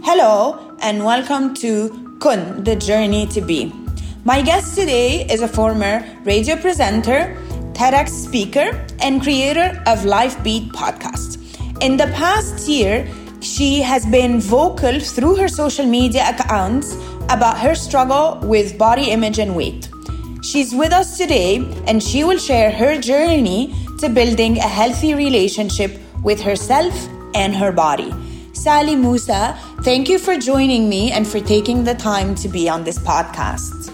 Hello and welcome to Kun, the Journey to Be. My guest today is a former radio presenter, TEDx speaker, and creator of Life Beat podcast. In the past year, she has been vocal through her social media accounts about her struggle with body image and weight. She's with us today and she will share her journey to building a healthy relationship with herself and her body. Sally Musa, thank you for joining me and for taking the time to be on this podcast.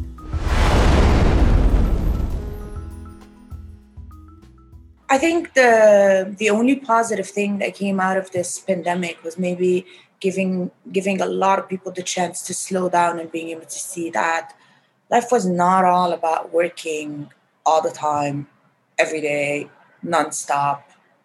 I think the only positive thing that came out of this pandemic was maybe giving a lot of people the chance to slow down and being able to see that life was not all about working all the time, every day, nonstop.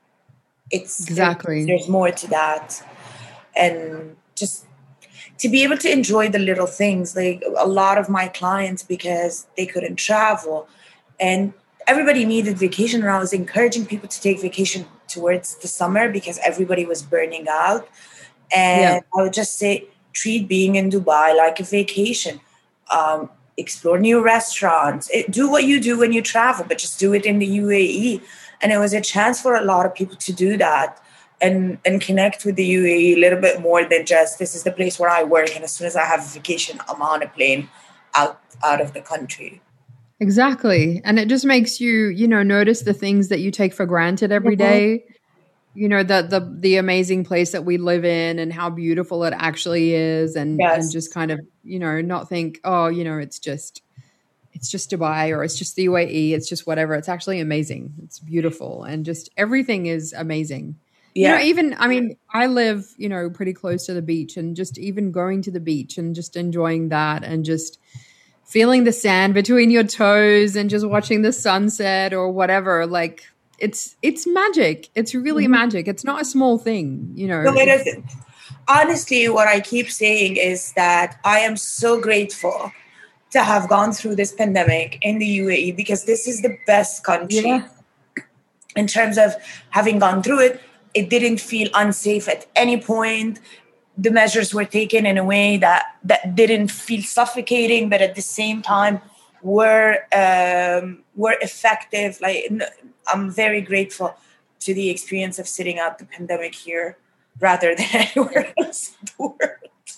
There's more to that. And just to be able to enjoy the little things, like a lot of my clients, because they couldn't travel and everybody needed vacation, and I was encouraging people to take vacation towards the summer because everybody was burning out. And I would just say, treat being in Dubai like a vacation. Explore new restaurants. Do what you do when you travel, but just do it in the UAE. And it was a chance for a lot of people to do that and connect with the UAE a little bit more than just, this is the place where I work, and as soon as I have a vacation, I'm on a plane out of the country. Exactly. And it just makes you, notice the things that you take for granted every day. The amazing place that we live in and how beautiful it actually is. And just kind of, not think, it's just Dubai or it's just the UAE. It's just whatever. It's actually amazing. It's beautiful. And just everything is amazing. Yeah. I live, pretty close to the beach, and just even going to the beach and just enjoying that and just feeling the sand between your toes and just watching the sunset or whatever. Like it's magic. It's really magic. It's not a small thing, No, it isn't. Honestly, what I keep saying is that I am so grateful to have gone through this pandemic in the UAE, because this is the best country in terms of having gone through it. It didn't feel unsafe at any point. The measures were taken in a way that didn't feel suffocating, but at the same time were effective. Like, I'm very grateful to the experience of sitting out the pandemic here rather than anywhere else in the world.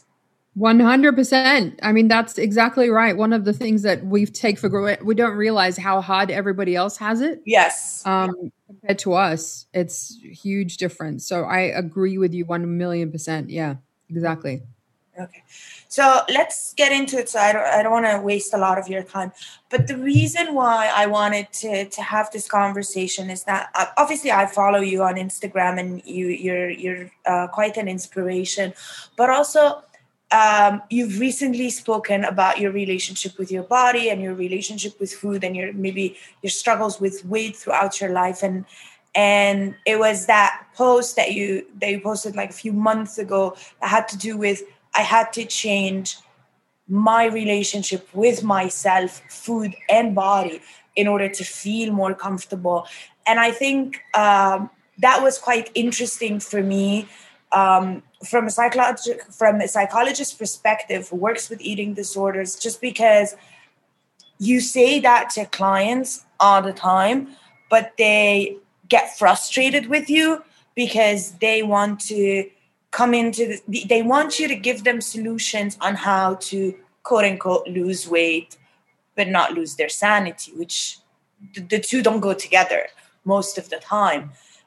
100%. I mean, that's exactly right. One of the things that we take for granted, we don't realize how hard everybody else has it. Yes. Compared to us, it's a huge difference. So I agree with you 1,000,000%. Yeah, exactly. Okay. So let's get into it. So I don't want to waste a lot of your time. But the reason why I wanted to have this conversation is that obviously I follow you on Instagram, and you're quite an inspiration. But also you've recently spoken about your relationship with your body and your relationship with food, and your struggles with weight throughout your life. And it was that post that you posted like a few months ago that had to do with, I had to change my relationship with myself, food and body, in order to feel more comfortable. And I think that was quite interesting for me. From a psychologist's perspective who works with eating disorders, just because you say that to clients all the time, but they get frustrated with you because they want to they want you to give them solutions on how to, quote unquote, lose weight, but not lose their sanity, which the two don't go together most of the time.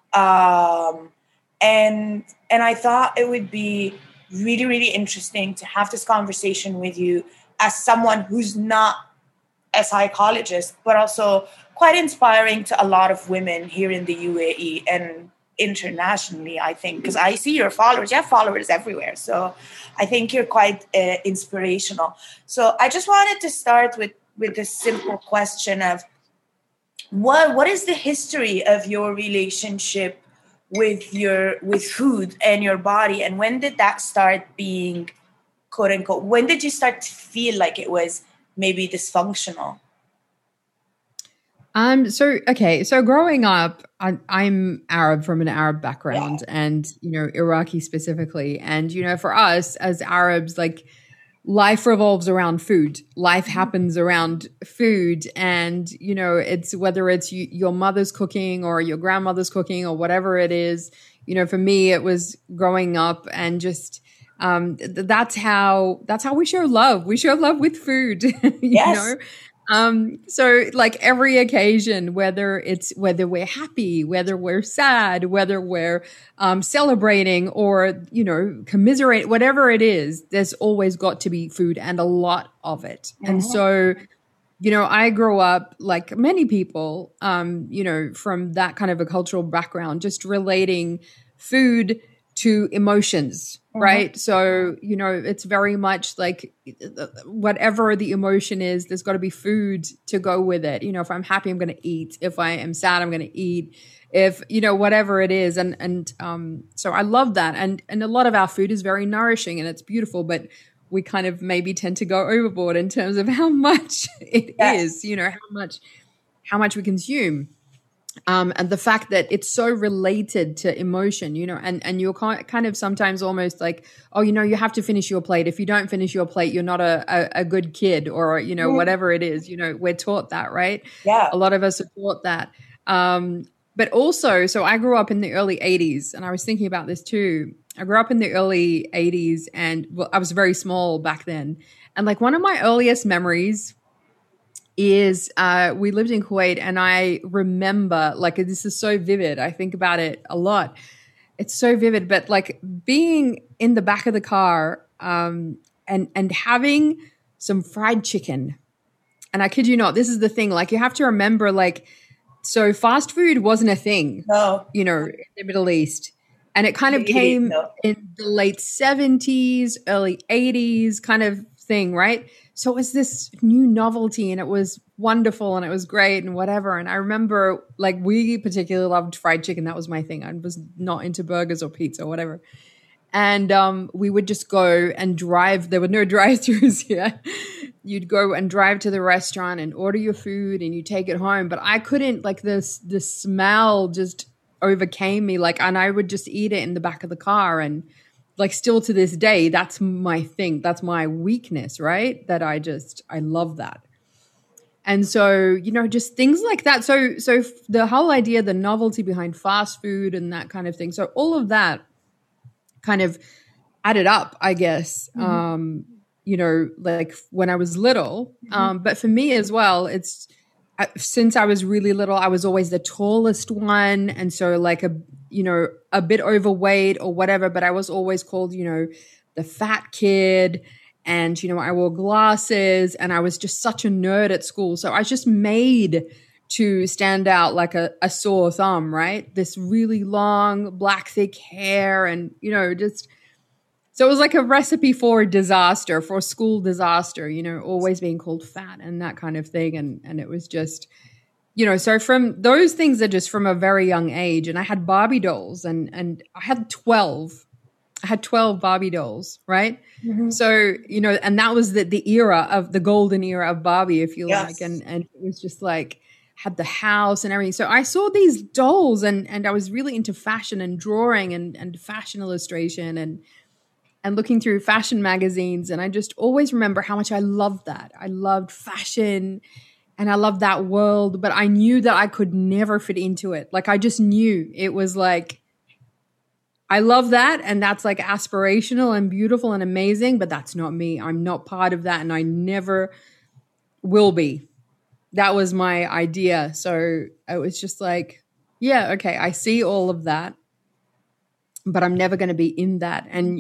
And I thought it would be really, really interesting to have this conversation with you as someone who's not a psychologist, but also quite inspiring to a lot of women here in the UAE and internationally, I think, because I see your followers. You have followers everywhere. So I think you're quite inspirational. So I just wanted to start with this simple question of what is the history of your relationship with food and your body, and when did that start being, quote unquote, when did you start to feel like it was maybe dysfunctional? So growing up, I'm Arab from an Arab background, Yeah. and Iraqi specifically. And for us as Arabs, like life revolves around food. Life happens around food, and it's whether it's your mother's cooking or your grandmother's cooking or whatever it is. For me, it was growing up and just that's how we show love. We show love with food. Yes. So like every occasion, whether we're happy, whether we're sad, whether we're celebrating or, commiserate, whatever it is, there's always got to be food and a lot of it. Mm-hmm. And so, I grew up like many people, from that kind of a cultural background, just relating food to emotions. Right. So, it's very much like whatever the emotion is, there's got to be food to go with it. If I'm happy, I'm going to eat. If I am sad, I'm going to eat. If, whatever it is. And so I love that. And a lot of our food is very nourishing and it's beautiful, but we kind of maybe tend to go overboard in terms of how much it is, how much we consume. And the fact that it's so related to emotion, and you're kind of sometimes almost like, oh, you have to finish your plate. If you don't finish your plate, you're not a good kid or, whatever it is, we're taught that, right? Yeah. A lot of us are taught that. But also, so I grew up in the early 80s and I was thinking about this too. I grew up in the early 80s and I was very small back then. And like one of my earliest memories is we lived in Kuwait and I remember like this is so vivid. I think about it a lot. It's so vivid, but like being in the back of the car and having some fried chicken. And I kid you not, this is the thing. Like you have to remember like, so fast food wasn't a thing, in the Middle East. And it kind of came in the late 70s, early 80s kind of thing, right? So it was this new novelty and it was wonderful and it was great and whatever. And I remember like we particularly loved fried chicken. That was my thing. I was not into burgers or pizza or whatever. And we would just go and drive. There were no drive-thrus here. You'd go and drive to the restaurant and order your food and you take it home. But I couldn't like the smell just overcame me. Like, and I would just eat it in the back of the car and like still to this day, that's my thing. That's my weakness, right? That I love that. And so, just things like that. So the whole idea, the novelty behind fast food and that kind of thing. So all of that kind of added up, I guess, like when I was little. But for me as well, since I was really little, I was always the tallest one. And so like a bit overweight or whatever, but I was always called, the fat kid. And, I wore glasses and I was just such a nerd at school. So I was just made to stand out like a sore thumb, right? This really long, black, thick hair and, so it was like a recipe for disaster, for school disaster, always being called fat and that kind of thing. And it was just, so from those things are just from a very young age. And I had Barbie dolls and I had 12. I had 12 Barbie dolls, right? Mm-hmm. So, and that was the era of the golden era of Barbie, if you like. And it was just like, had the house and everything. So I saw these dolls and I was really into fashion and drawing and fashion illustration and looking through fashion magazines. And I just always remember how much I loved that. I loved fashion and I loved that world, but I knew that I could never fit into it. Like I just knew it was like, I love that. And that's like aspirational and beautiful and amazing, but that's not me. I'm not part of that. And I never will be. That was my idea. So it was just like, yeah, okay, I see all of that, but I'm never going to be in that. And,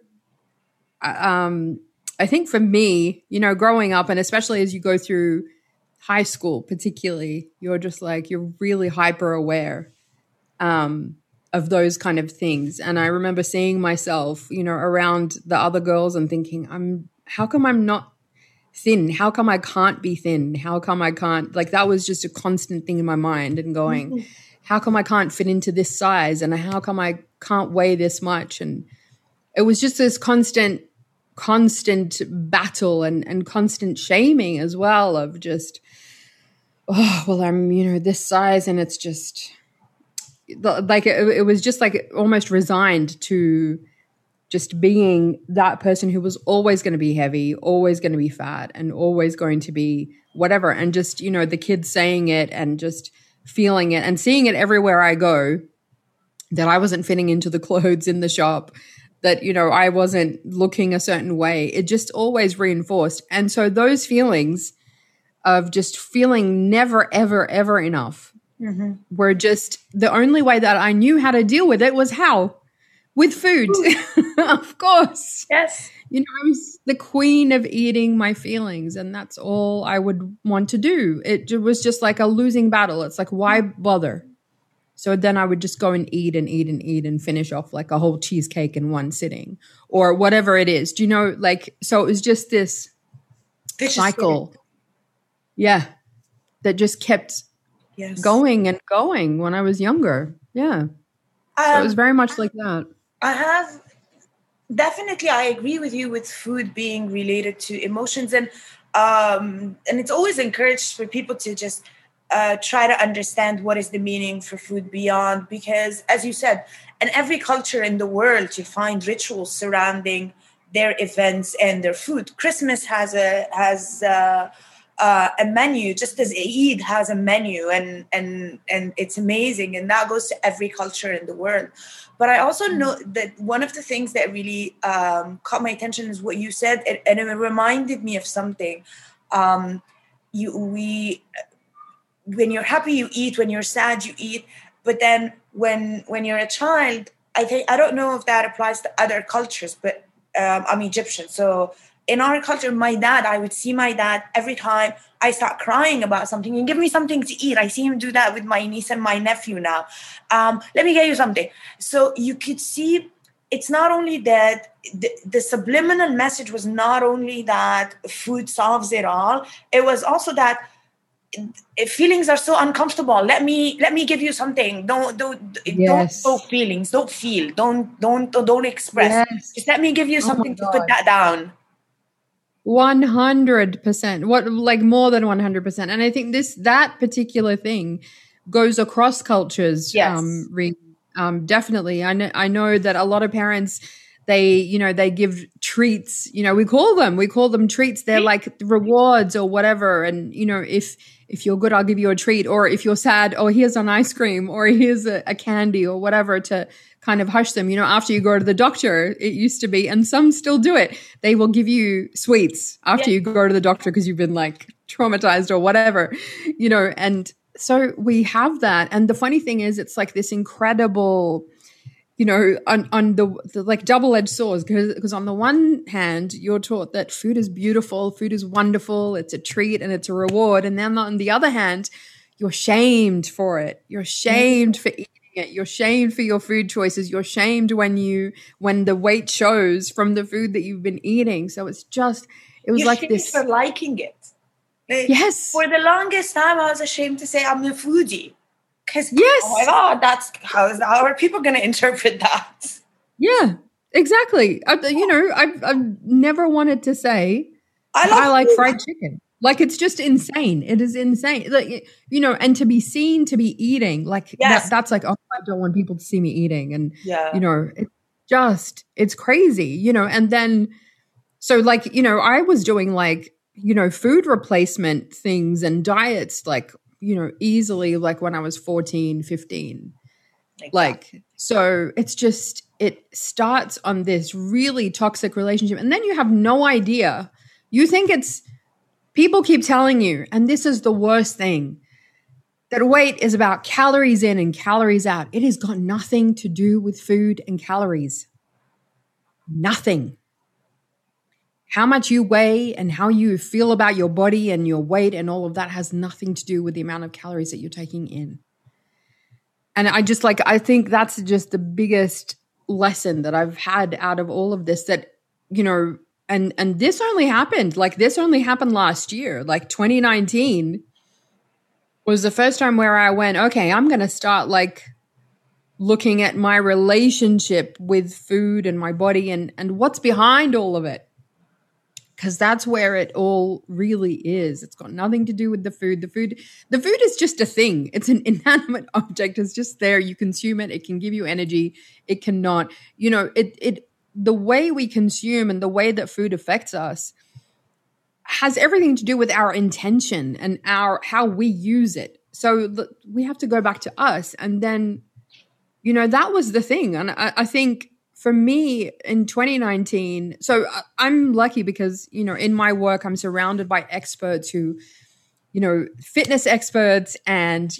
I think for me, growing up and especially as you go through high school, particularly, you're just like, you're really hyper aware, of those kind of things. And I remember seeing myself, around the other girls and thinking, how come I'm not thin? How come I can't be thin? How come I can't, like, that was just a constant thing in my mind and going, how come I can't fit into this size? And how come I can't weigh this much? And it was just this constant battle and constant shaming as well of just, oh, well, I'm, this size, and it's just like, it was just like almost resigned to just being that person who was always going to be heavy, always going to be fat, and always going to be whatever. And just, the kids saying it and just feeling it and seeing it everywhere I go, that I wasn't fitting into the clothes in the shop, that, I wasn't looking a certain way. It just always reinforced. And so those feelings of just feeling never, ever, ever enough were just the only way that I knew how to deal with it was how? With food, of course. Yes. I was the queen of eating my feelings, and that's all I would want to do. It was just like a losing battle. It's like, why bother? So then I would just go and eat and eat and eat and finish off like a whole cheesecake in one sitting or whatever it is. Do you know, so it was just this cycle. Yeah. That just kept going and going when I was younger. Yeah. So it was very much like that. I agree with you with food being related to emotions, and it's always encouraged for people to just try to understand what is the meaning for food beyond, because as you said, in every culture in the world you find rituals surrounding their events and their food. Christmas has a menu, just as Eid has a menu, and it's amazing, and that goes to every culture in the world. But I also know that one of the things that really caught my attention is what you said, and it reminded me of something. When you're happy, you eat. When you're sad, you eat. But then when you're a child, I don't know if that applies to other cultures, but I'm Egyptian, so in our culture, I would see my dad every time I start crying about something and give me something to eat. I see him do that with my niece and my nephew now. Let me get you something. So you could see it's not only that the subliminal message was not only that food solves it all. It was also that if feelings are so uncomfortable, let me give you something. Don't show feelings. Don't feel. Don't express. Yes. Just let me give you something to put that down. 100%. Like more than 100%. And I think that particular thing goes across cultures. Yes. Definitely. I know that a lot of parents, they give treats, we call them treats. They're like rewards or whatever. And, if you're good, I'll give you a treat. Or if you're sad, oh, here's an ice cream, or here's a candy or whatever to kind of hush them. After you go to the doctor, it used to be, and some still do it. They will give you sweets after you go to the doctor because you've been like traumatized or whatever, and so we have that. And the funny thing is, it's like this incredible, on the like double-edged swords, because on the one hand, you're taught that food is beautiful, food is wonderful, it's a treat and it's a reward. And then on the other hand, you're shamed for it. You're shamed for eating it. You're shamed for your food choices. You're shamed when the weight shows from the food that you've been eating. So it was you're like this. For liking it. Yes. For the longest time, I was ashamed to say I'm a foodie. Because, yes. Oh my God, how are people going to interpret that? Yeah, exactly. I've never wanted to say I like fried chicken. Like, it's just insane. It is insane. Like, and to be seen to be eating, like, that's like, oh, I don't want people to see me eating. And, it's crazy, and then, so like, I was doing like, food replacement things and diets, like, easily like when I was 14, 15. Exactly. Like, so it's just, it starts on this really toxic relationship. And then you have no idea. You think people keep telling you, and this is the worst thing, that weight is about calories in and calories out. It has got nothing to do with food and calories. Nothing. How much you weigh and how you feel about your body and your weight and all of that has nothing to do with the amount of calories that you're taking in. And I think that's just the biggest lesson that I've had out of all of this, that, and this only happened last year. Like 2019 was the first time where I went, okay, I'm going to start like looking at my relationship with food and my body and what's behind all of it. because that's where it all really is. It's got nothing to do with the food. The food is just a thing. It's an inanimate object. It's just there. You consume it. It can give you energy. It cannot, the way we consume and the way that food affects us has everything to do with our intention and how we use it. So we have to go back to us. And then, that was the thing. And I think for me in 2019, so I'm lucky because, in my work, I'm surrounded by experts who, fitness experts and,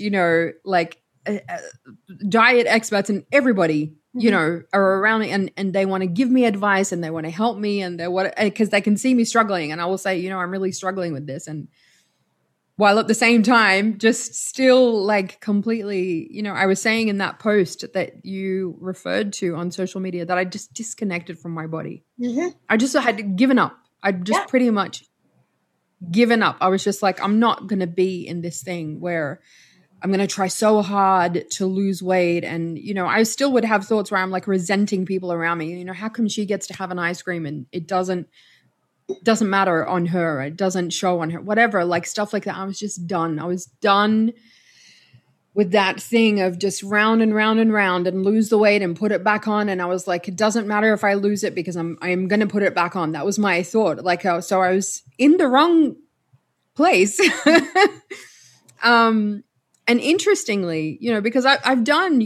diet experts and everybody, are around me and they want to give me advice and they want to help me and because they can see me struggling. And I will say, I'm really struggling with this. And while at the same time, just still completely, I was saying in that post that you referred to on social media that I just disconnected from my body. Mm-hmm. I just had given up. I just pretty much given up. I was just like, I'm not going to be in this thing where I'm going to try so hard to lose weight. And, I still would have thoughts where I'm resenting people around me. How come she gets to have an ice cream and it doesn't matter on her. It doesn't show on her, whatever, stuff like that. I was just done. I was done with that thing of just round and round and round and lose the weight and put it back on. And I was like, it doesn't matter if I lose it because I'm going to put it back on. That was my thought. So I was in the wrong place. And interestingly, because I've done,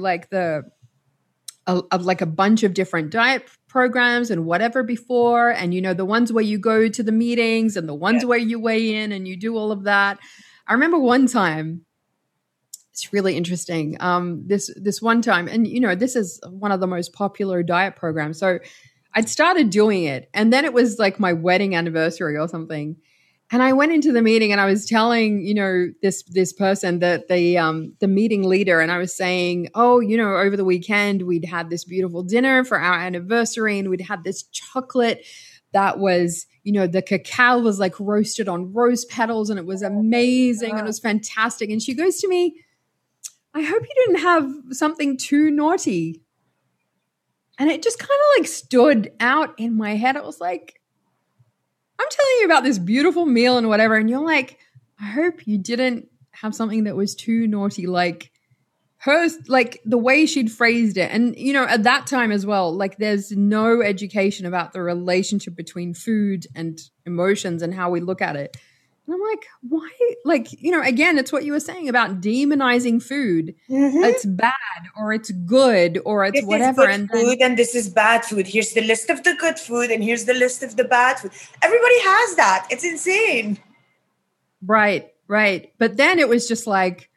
a bunch of different diet programs and whatever before. And, the ones where you go to the meetings and the ones where you weigh in and you do all of that. I remember one time, it's really interesting. This one time, and, this is one of the most popular diet programs. So I'd started doing it and then it was my wedding anniversary or something. And I went into the meeting and I was telling, this person that the meeting leader, and I was saying, over the weekend, we'd had this beautiful dinner for our anniversary and we'd had this chocolate that was, the cacao was roasted on rose petals and it was amazing and it was fantastic. And she goes to me, I hope you didn't have something too naughty. And it just kind of stood out in my head. It was like, I'm telling you about this beautiful meal and whatever. And you're like, I hope you didn't have something that was too naughty. Hers, the way she'd phrased it. And, at that time as well, there's no education about the relationship between food and emotions and how we look at it. And I'm like, why? Again, it's what you were saying about demonizing food. Mm-hmm. It's bad or it's good or it's whatever. This is good food and this is bad food. Here's the list of the good food and here's the list of the bad food. Everybody has that. It's insane. Right. But then it was just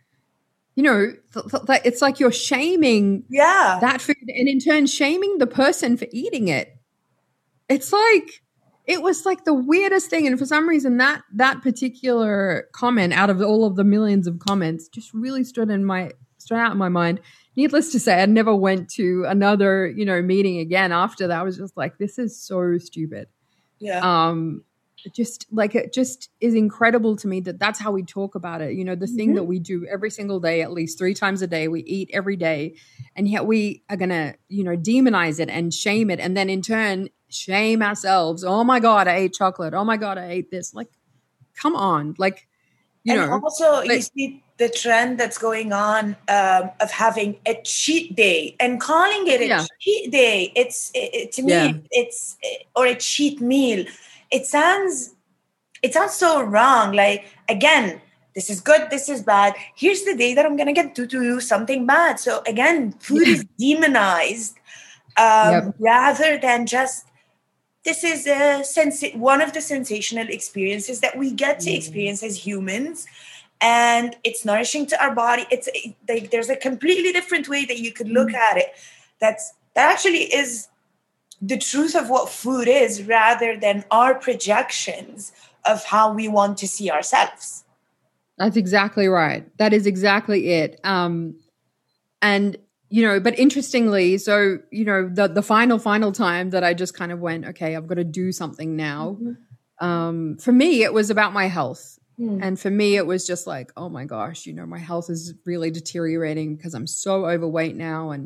it's like you're shaming that food and in turn shaming the person for eating it. It's it was the weirdest thing. And for some reason that particular comment out of all of the millions of comments just really stood out in my mind. Needless to say, I never went to another, meeting again after that. I was just like, this is so stupid. Yeah. It just is incredible to me that that's how we talk about it. The thing that we do every single day, at least 3 times a day, we eat every day. And yet we are going to, demonize it and shame it. And then in turn, shame ourselves. Oh my God, I ate chocolate. Oh my God, I ate this. Come on. Also you see the trend that's going on of having a cheat day and calling it a cheat day. To me, it's or a cheat meal. It sounds so wrong. Again, this is good, this is bad. Here's the day that I'm going to get to do something bad. So again, food is demonized rather than just, this is one of the sensational experiences that we get to experience as humans. And it's nourishing to our body. It's there's a completely different way that you could look at it. That actually is the truth of what food is rather than our projections of how we want to see ourselves. That's exactly right. That is exactly it. And, but interestingly, so, the final time that I just kind of went, okay, I've got to do something now. Mm-hmm. For me, it was about my health. And for me, it was just oh my gosh, my health is really deteriorating because I'm so overweight now. And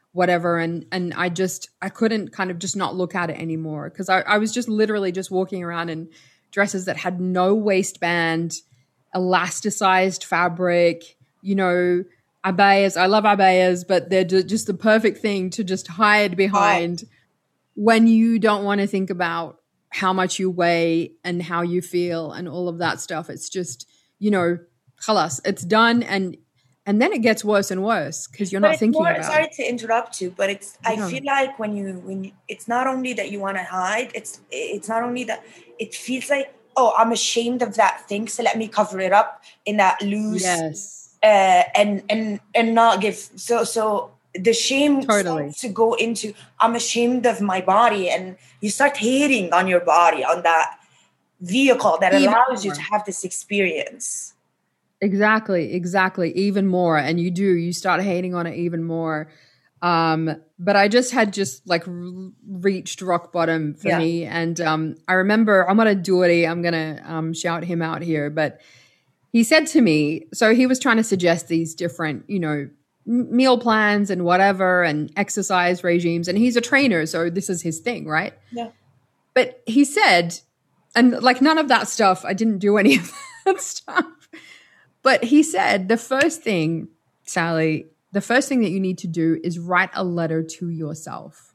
whatever. And I couldn't kind of just not look at it anymore, because I was just literally just walking around in dresses that had no waistband, elasticized fabric, abayas. I love abayas, but they're just the perfect thing to just hide behind when you don't want to think about how much you weigh and how you feel and all of that stuff. It's just, khalas, it's done. And then it gets worse and worse because you're not thinking about it. Sorry to interrupt you, but I feel like when you it's not only that you want to hide, it's not only that it feels like, oh, I'm ashamed of that thing, so let me cover it up in that loose, and not give. So the shame starts to go into, I'm ashamed of my body, and you start hating on your body, on that vehicle that allows you to have this experience. Exactly. Even more. And you start hating on it even more. But I had reached rock bottom for me. And I remember Omar Douri, I'm going to shout him out here, but he said to me, so he was trying to suggest these different, meal plans and whatever, and exercise regimes. And he's a trainer, so this is his thing, right? Yeah. But he said, and none of that stuff, I didn't do any of that stuff. But he said, the first thing, Sally, that you need to do is write a letter to yourself.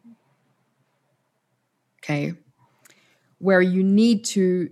Okay. Where you need to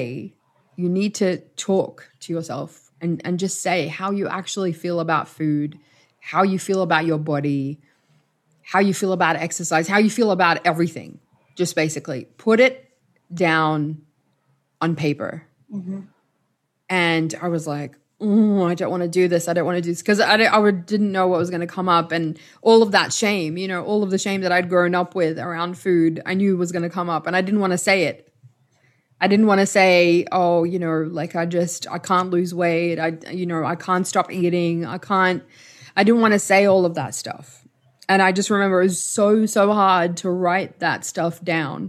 talk to yourself and just say how you actually feel about food, how you feel about your body, how you feel about exercise, how you feel about everything. Just basically put it down on paper. Mm-hmm. And I was like, I don't want to do this. I don't want to do this, because I didn't know what was going to come up, and all of that shame, all of the shame that I'd grown up with around food, I knew was going to come up, and I didn't want to say it. I didn't want to say, oh, I can't lose weight. I can't stop eating. I didn't want to say all of that stuff. And I just remember it was so, so hard to write that stuff down.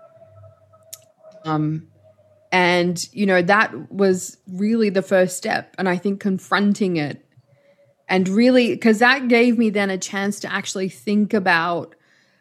And, that was really the first step. And I think confronting it, and really, because that gave me then a chance to actually think about,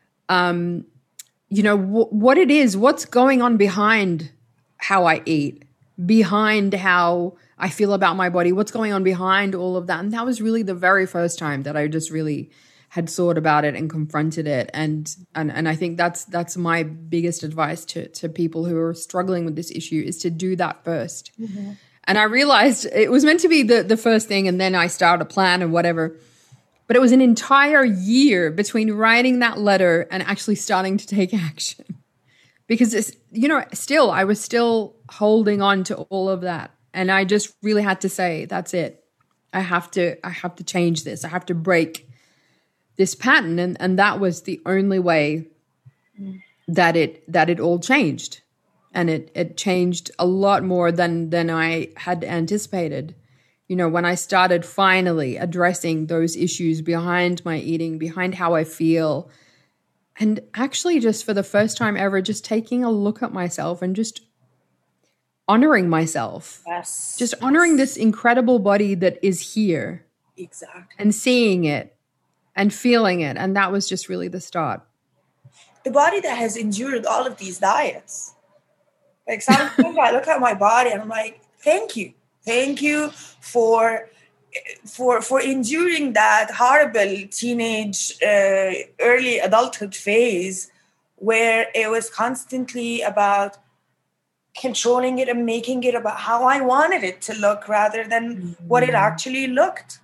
what it is, what's going on behind how I eat, behind how I feel about my body, what's going on behind all of that. And that was really the very first time that I just really had thought about it and confronted it. And I think that's my biggest advice to people who are struggling with this issue, is to do that first. Mm-hmm. And I realized it was meant to be the first thing, and then I started a plan and whatever. But it was an entire year between writing that letter and actually starting to take action. Because it's, I was still holding on to all of that. And I just really had to say, that's it. I have to change this. I have to break this pattern. And that was the only way that it all changed. And it changed a lot more than I had anticipated. When I started finally addressing those issues behind my eating, behind how I feel, and actually just for the first time ever, just taking a look at myself and just honoring myself. Yes. Just honoring this incredible body that is here. Exactly. And seeing it and feeling it. And that was just really the start. The body that has endured all of these diets. Sometimes I look at my body and I'm like, thank you. Thank you for enduring that horrible teenage, early adulthood phase where it was constantly about controlling it and making it about how I wanted it to look rather than what it actually looked.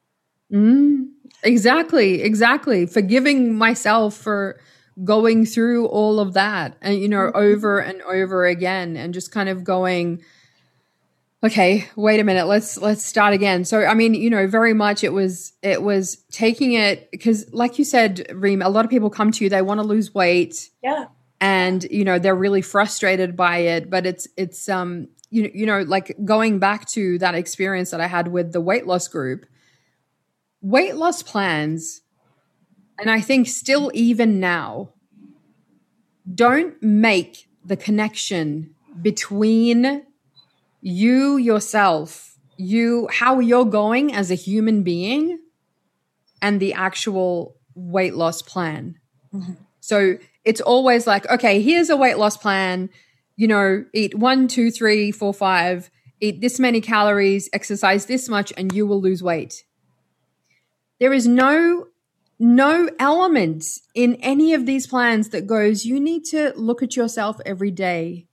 Exactly. Forgiving myself for going through all of that and, over and over again, and just kind of going, okay, wait a minute, let's start again. So, I mean, very much it was taking it, because like you said, Reem, a lot of people come to you, they want to lose weight. Yeah. And, they're really frustrated by it, but it's like going back to that experience that I had with the weight loss group, weight loss plans, and I think still even now, don't make the connection between you, yourself, how you're going as a human being, and the actual weight loss plan. Mm-hmm. So it's always like, okay, here's a weight loss plan, you know, eat 1, 2, 3, 4, 5, eat this many calories, exercise this much, and you will lose weight. There is no element in any of these plans that goes, you need to look at yourself every day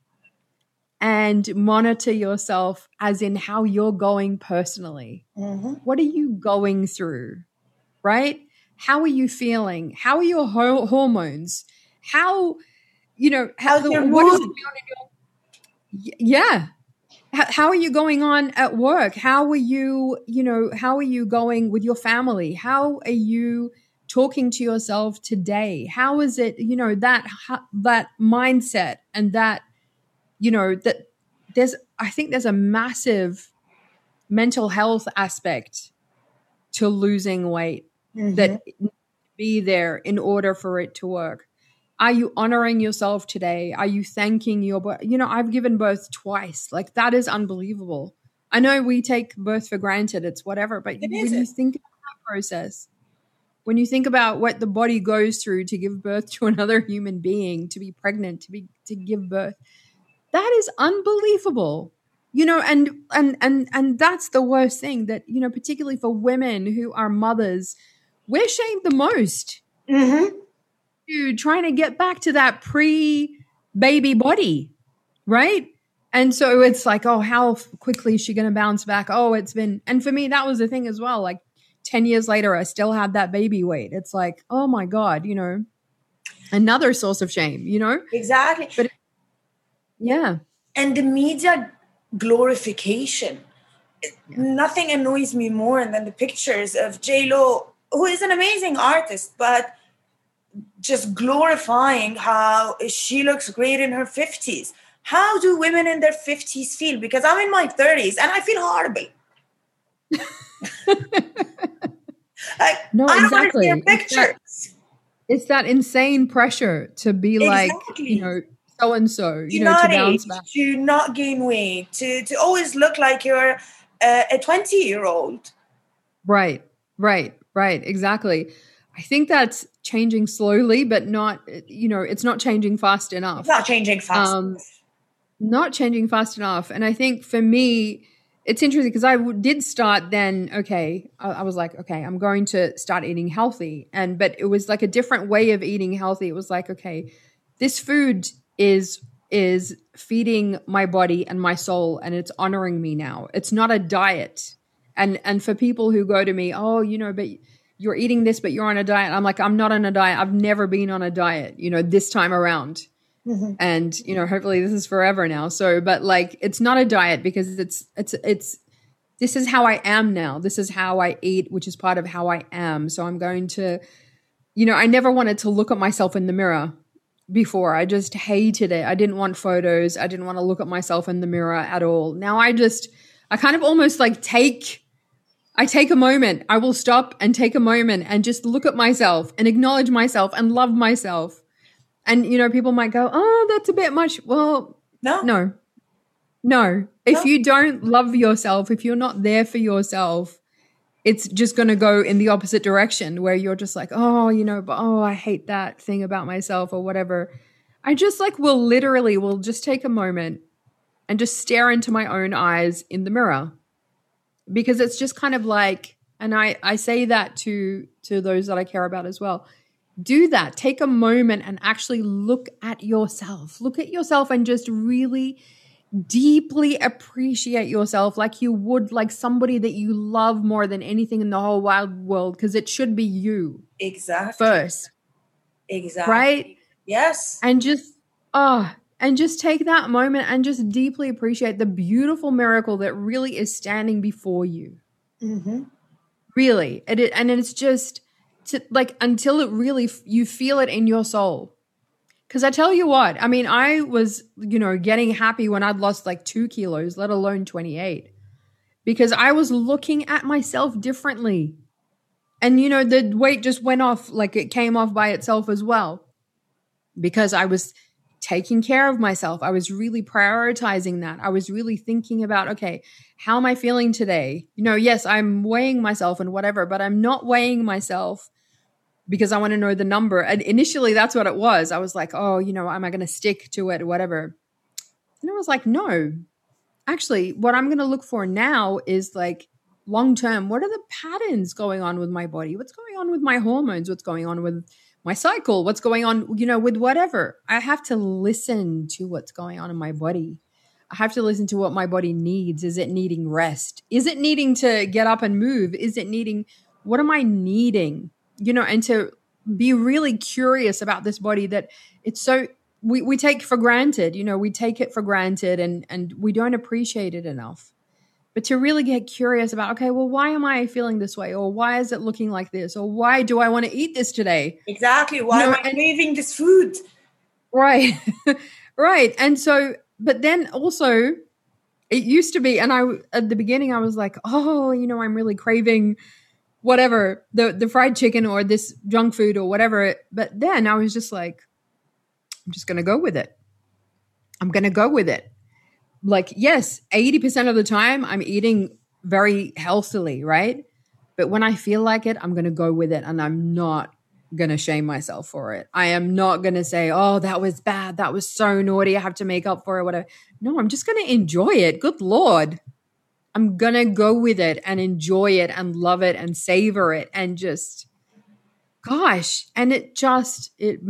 and monitor yourself as in how you're going personally. Mm-hmm. What are you going through, right? How are you feeling? How are your hormones? How, you know, what is going on in your, yeah. How are you going on at work? How are you, you know, how are you going with your family? How are you talking to yourself today? How is it, you know, that mindset and that, you know, that I think there's a massive mental health aspect to losing weight that be there in order for it to work. Are you honoring yourself today? Are you thanking your body? You know, I've given birth twice. Like, that is unbelievable. I know we take birth for granted. It's whatever. But when you think about that process, when you think about what the body goes through to give birth to another human being, to be pregnant, to give birth, that is unbelievable. You know, and that's the worst thing that, you know, particularly for women who are mothers, we're shamed the most. Mm-hmm. Trying to get back to that pre-baby body, right? And so it's like, oh, how quickly is she going to bounce back? Oh, it's been, and for me, that was the thing as well. Like 10 years later, I still had that baby weight. It's like, oh my God, you know, another source of shame, you know? Exactly. But yeah. And the media glorification. Yeah. Nothing annoys me more than the pictures of J-Lo, who is an amazing artist, but just glorifying how she looks great in her 50s. How do women in their 50s feel? Because I'm in my 30s and I feel horrible. Like, no, I don't exactly. want to see pictures. It's that insane pressure to be like, you know, so-and-so, you know, to bounce back. To not gain weight, to always look like you're a 20-year-old. Right. Exactly. I think that's changing slowly, but not, you know, it's not changing fast enough. It's not changing fast enough. Not changing fast enough. And I think for me, it's interesting because I did start then, okay, I was like, okay, I'm going to start eating healthy. But it was like a different way of eating healthy. It was like, okay, this food is feeding my body and my soul and it's honoring me now. It's not a diet. And for people who go to me, oh, you know, but you're eating this, but you're on a diet. I'm like, I'm not on a diet. I've never been on a diet, you know, this time around. Mm-hmm. And, you know, hopefully this is forever now. So, but like, it's not a diet because it's, this is how I am now. This is how I eat, which is part of how I am. So I'm going to, you know, I never wanted to look at myself in the mirror before. I just hated it. I didn't want photos. I didn't want to look at myself in the mirror at all. Now I kind of almost like I take a moment. I will stop and take a moment and just look at myself and acknowledge myself and love myself. And, you know, people might go, oh, that's a bit much. Well, no. If you don't love yourself, if you're not there for yourself, it's just going to go in the opposite direction where you're just like, oh, you know, but, oh, I hate that thing about myself or whatever. I just like will just take a moment and just stare into my own eyes in the mirror. Because it's just kind of like, and I say that to those that I care about as well. Do that. Take a moment and actually look at yourself. Look at yourself and just really deeply appreciate yourself like you would like somebody that you love more than anything in the whole wide world, because it should be you. Exactly. First. Exactly. Right? Yes. And just take that moment and just deeply appreciate the beautiful miracle that really is standing before you. Mm-hmm. Really. And it's just like until it really, you feel it in your soul. Because I tell you what, I mean, I was, you know, getting happy when I'd lost like 2 kilos, let alone 28. Because I was looking at myself differently. And, you know, the weight just went off, like it came off by itself as well. Because I was taking care of myself. I was really prioritizing that. I was really thinking about, okay, how am I feeling today? You know, yes, I'm weighing myself and whatever, but I'm not weighing myself because I want to know the number. And initially that's what it was. I was like, oh, am I going to stick to it or whatever? And I was like, no, actually, what I'm going to look for now is like long term, what are the patterns going on with my body? What's going on with my hormones? What's going on with my cycle? What's going on, with whatever? I have to listen to what's going on in my body. I have to listen to what my body needs. Is it needing rest? Is it needing to get up and move? Is it needing, what am I needing? And to be really curious about this body that it's so, we take for granted, we take it for granted and we don't appreciate it enough. But to really get curious about, okay, well, why am I feeling this way? Or why is it looking like this? Or why do I want to eat this today? Exactly. Why am I craving this food? Right. Right. And so, but then also it used to be, and at the beginning I was like, oh, I'm really craving whatever, the fried chicken or this junk food or whatever. But then I was just like, I'm just going to go with it. I'm going to go with it. Like, yes, 80% of the time I'm eating very healthily, right? But when I feel like it, I'm going to go with it and I'm not going to shame myself for it. I am not going to say, oh, that was bad. That was so naughty. I have to make up for it, whatever. No, I'm just going to enjoy it. Good Lord. I'm going to go with it and enjoy it and love it and savor it and just, gosh. And it has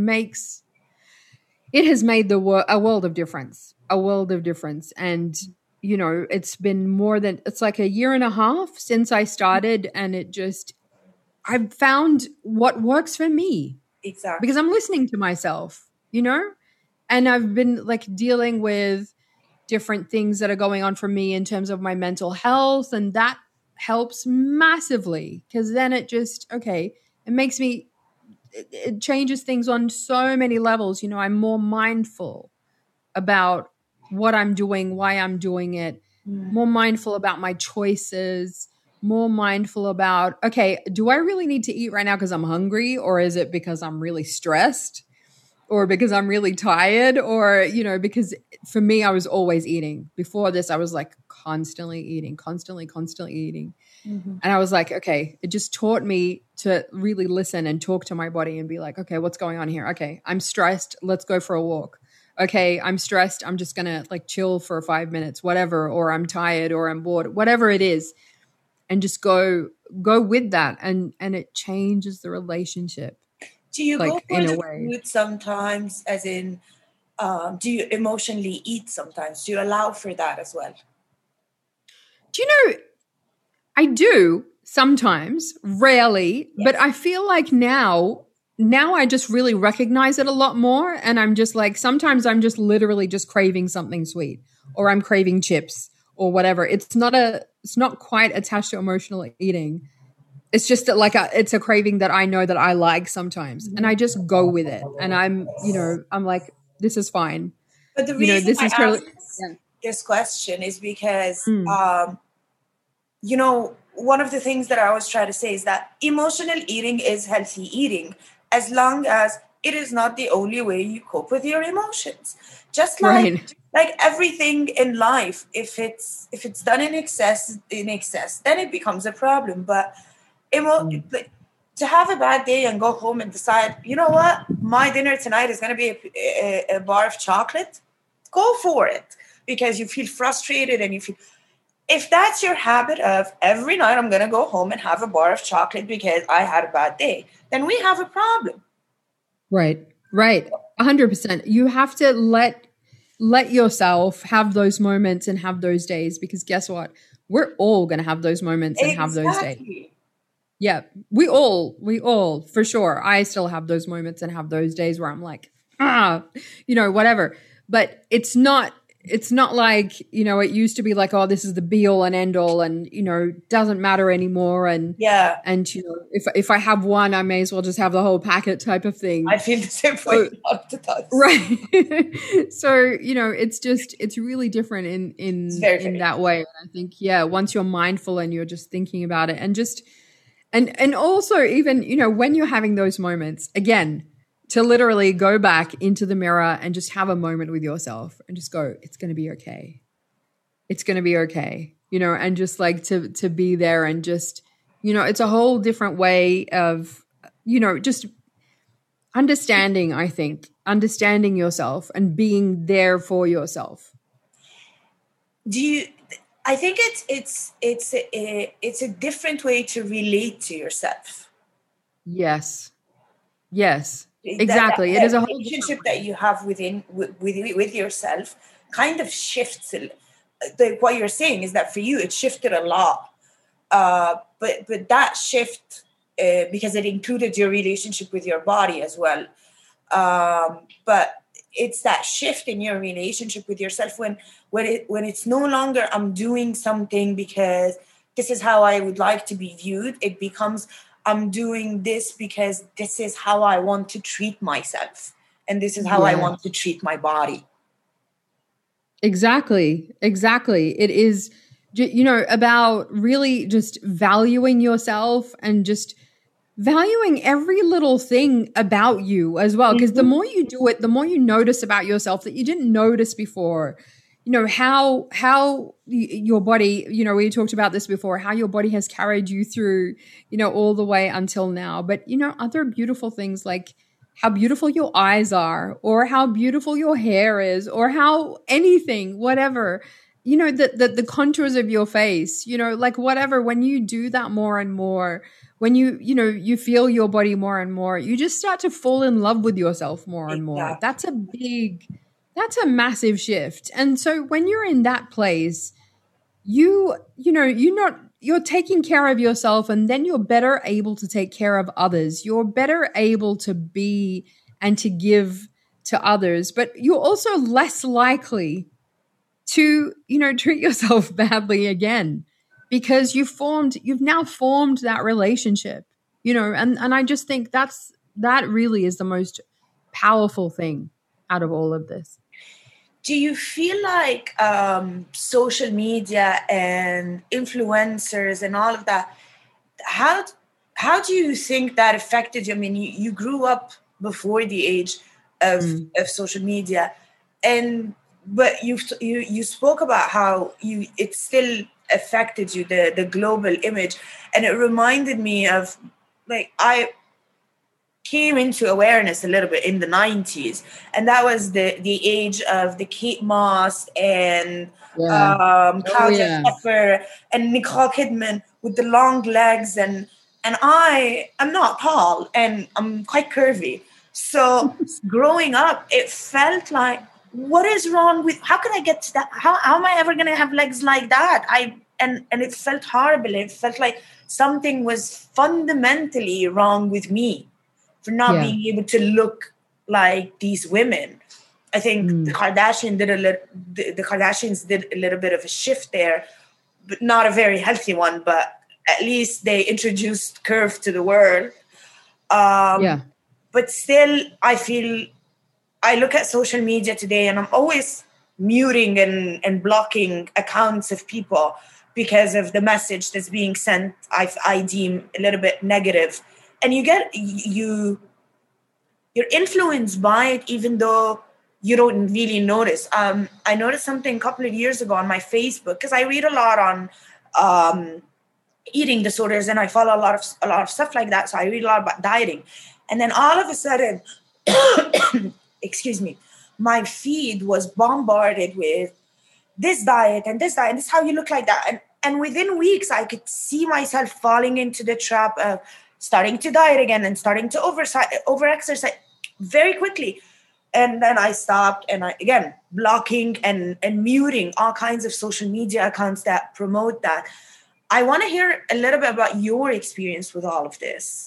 made a world of difference, And, it's been it's like a year and a half since I started and I've found what works for me. Exactly. Because I'm listening to myself, and I've been like dealing with different things that are going on for me in terms of my mental health. And that helps massively because then it makes me, it changes things on so many levels. I'm more mindful about what I'm doing, why I'm doing it, more mindful about my choices, more mindful about, okay, do I really need to eat right now because I'm hungry? Or is it because I'm really stressed? Or because I'm really tired? Or, because for me, I was always eating. Before this, I was like constantly eating. Mm-hmm. And I was like, okay, it just taught me to really listen and talk to my body and be like, okay, what's going on here? Okay, I'm stressed. Let's go for a walk. Okay, I'm stressed. I'm just going to like chill for 5 minutes, whatever, or I'm tired or I'm bored, whatever it is. And just go with that. And it changes the relationship. Do you go for the food sometimes, as in, do you emotionally eat sometimes? Do you allow for that as well? Do you know, I do sometimes, rarely, yes. But I feel like now I just really recognize it a lot more. And I'm just like, sometimes I'm just literally just craving something sweet or I'm craving chips or whatever. It's not quite attached to emotional eating. It's just that it's a craving that I know that I like sometimes and I just go with it. And I'm like, this is fine. But the reason I ask this question is because, one of the things that I always try to say is that emotional eating is healthy eating as long as it is not the only way you cope with your emotions. Just like everything in life, if it's done in excess, then it becomes a problem. But to have a bad day and go home and decide, you know what, my dinner tonight is going to be a bar of chocolate, go for it because you feel frustrated and you feel. If that's your habit of every night I'm going to go home and have a bar of chocolate because I had a bad day, then we have a problem. Right. 100%. You have to let yourself have those moments and have those days because guess what? We're all going to have those moments and have those days. Yeah, we all, for sure. I still have those moments and have those days where I'm like, whatever. But it's not like, it used to be like, oh, this is the be all and end all and, doesn't matter anymore. And yeah. And, if I have one, I may as well just have the whole packet type of thing. I feel the same way up to that. Right. So, it's really different in that way. And I think, once you're mindful and you're just thinking about it and just, and also even, when you're having those moments, again, to literally go back into the mirror and just have a moment with yourself and just go, it's going to be okay. It's going to be okay. And just like to be there and just, it's a whole different way of just understanding, I think, understanding yourself and being there for yourself. I think it's a different way to relate to yourself. Yes. Exactly. It is a whole relationship that you have with yourself kind of shifts. What you're saying is that for you, it shifted a lot. But that shift, because it included your relationship with your body as well. But it's that shift in your relationship with yourself when it's no longer I'm doing something because this is how I would like to be viewed. It becomes I'm doing this because this is how I want to treat myself, and this is how I want to treat my body. Exactly. It is, about really just valuing yourself and just valuing every little thing about you as well. Because the more you do it, the more you notice about yourself that you didn't notice before. How your body, we talked about this before, how your body has carried you through, all the way until now. But, other beautiful things like how beautiful your eyes are, or how beautiful your hair is, or how anything, whatever, the contours of your face, like whatever, when you do that more and more, when you feel your body more and more, you just start to fall in love with yourself more and more. That's a massive shift. And so when you're in that place, you're taking care of yourself, and then you're better able to take care of others. You're better able to be and to give to others, but you're also less likely to, treat yourself badly again, because you've now formed that relationship, and I just think that really is the most powerful thing out of all of this. Do you feel like social media and influencers and all of that, how do you think that affected you? I mean, you grew up before the age of social media, but you spoke about how it still affected you, the global image, and it reminded me of, like, I came into awareness a little bit in the 90s, and that was the age of the Kate Moss and Claudia Schiffer and Nicole Kidman with the long legs, and I'm not tall and I'm quite curvy. So growing up, it felt like, what is wrong with, how can I get to that? How am I ever going to have legs like that? And it felt horrible. It felt like something was fundamentally wrong with me for not being able to look like these women. I think the Kardashians did a little bit of a shift there, but not a very healthy one. But at least they introduced curve to the world. But still, I look at social media today, and I'm always muting and blocking accounts of people because of the message that's being sent. I deem a little bit negative. And you're influenced by it, even though you don't really notice. I noticed something a couple of years ago on my Facebook, because I read a lot on eating disorders, and I follow a lot of stuff like that. So I read a lot about dieting, and then all of a sudden, excuse me, my feed was bombarded with this diet and this diet, and this is how you look like that. And within weeks, I could see myself falling into the trap of starting to diet again and starting to over-exercise very quickly. And then I stopped, and again, blocking and muting all kinds of social media accounts that promote that. I want to hear a little bit about your experience with all of this.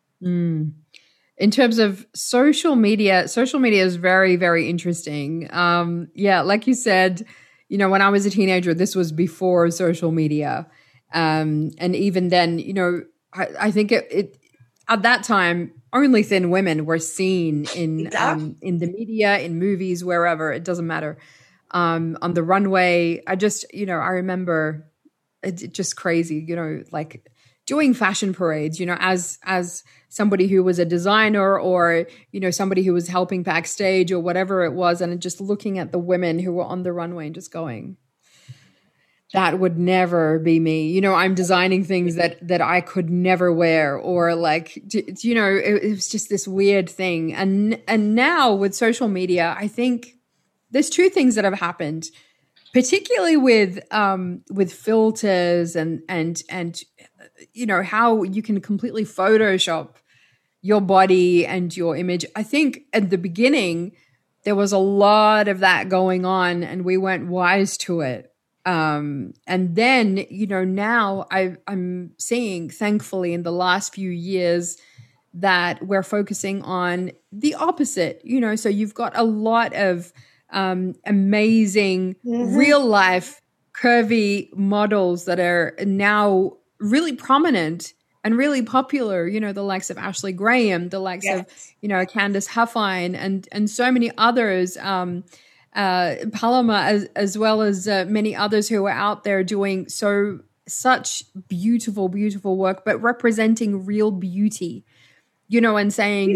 In terms of social media is very, very interesting. Like you said, when I was a teenager, this was before social media. And even then, I think it at that time, only thin women were seen in the media, in movies, wherever, it doesn't matter. On the runway, I remember it just crazy, like doing fashion parades, as somebody who was a designer, or, somebody who was helping backstage or whatever it was, and just looking at the women who were on the runway and just going, that would never be me. You know, I'm designing things that I could never wear, or like, you know, it was just this weird thing. And now with social media, I think there's two things that have happened, particularly with filters and you know, how you can completely Photoshop your body and your image. I think at the beginning there was a lot of that going on, and we weren't wise to it. And then, you know, now I'm seeing, thankfully, in the last few years, that we're focusing on the opposite. You know, so you've got a lot of amazing real life curvy models that are now really prominent and really popular, you know, the likes of Ashley Graham, the likes of, you know, Candace Huffine, and so many others, Paloma, as well as many others who are out there doing such beautiful, beautiful work, but representing real beauty, you know, and saying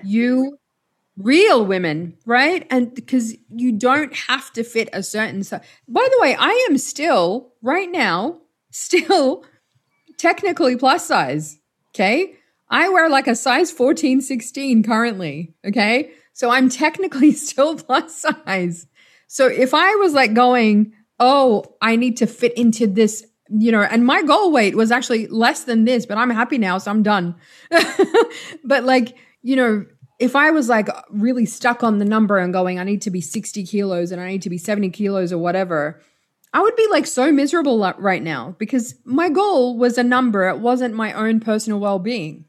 real women, right? And because you don't have to fit a certain size. By the way, I am still, right now, technically plus size, okay? I wear like a size 14, 16 currently, okay? So I'm technically still plus size. So if I was like going, oh, I need to fit into this, you know, and my goal weight was actually less than this, but I'm happy now, so I'm done. But like, you know, if I was like really stuck on the number and going, I need to be 60 kilos and I need to be 70 kilos or whatever, I would be like so miserable right now, because my goal was a number. It wasn't my own personal well-being.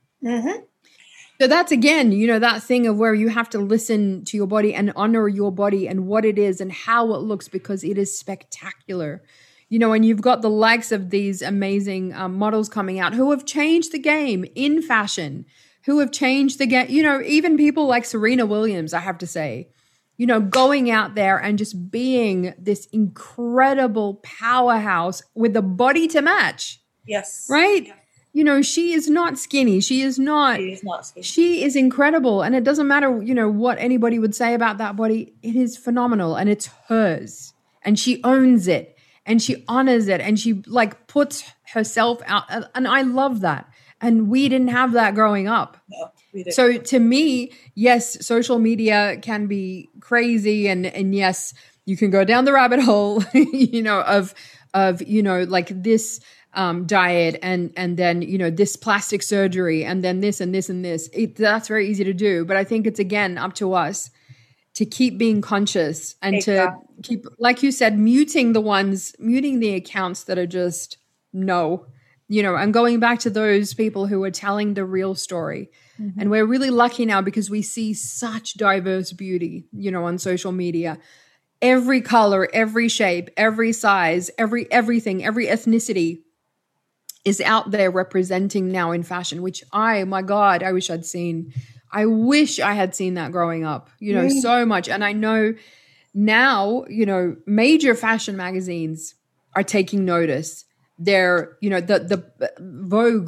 So that's, again, you know, that thing of where you have to listen to your body and honor your body and what it is and how it looks, because it is spectacular. You know, and you've got the likes of these amazing models coming out who have changed the game in fashion, who have changed the game. You know, even people like Serena Williams, I have to say, you know, going out there and just being this incredible powerhouse with the body to match. Yes. Right? Yeah. You know, she is not skinny. She is not skinny. She is incredible. And it doesn't matter, you know, what anybody would say about that body. It is phenomenal, and it's hers, and she owns it, and she honors it, and she like puts herself out. And I love that. And we didn't have that growing up. No, we didn't. So to me, yes, social media can be crazy, and yes, you can go down the rabbit hole, you know, of you know, like this diet and then, you know, this plastic surgery and then this and this and this. That's very easy to do. But I think it's, again, up to us to keep being conscious and to keep, like you said, muting the accounts that are just no. You know, and going back to those people who are telling the real story. And we're really lucky now because we see such diverse beauty, you know, on social media. Every color, every shape, every size, everything, every ethnicity is out there representing now in fashion, which my God, I wish I'd seen. I wish I had seen that growing up, you know, so much. And I know now, you know, major fashion magazines are taking notice. They're, you know, the Vogue,